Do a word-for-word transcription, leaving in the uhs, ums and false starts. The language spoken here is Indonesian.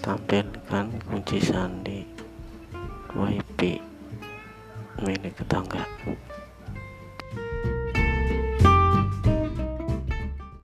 Tampilkan kunci sandi W I P milik tetangga.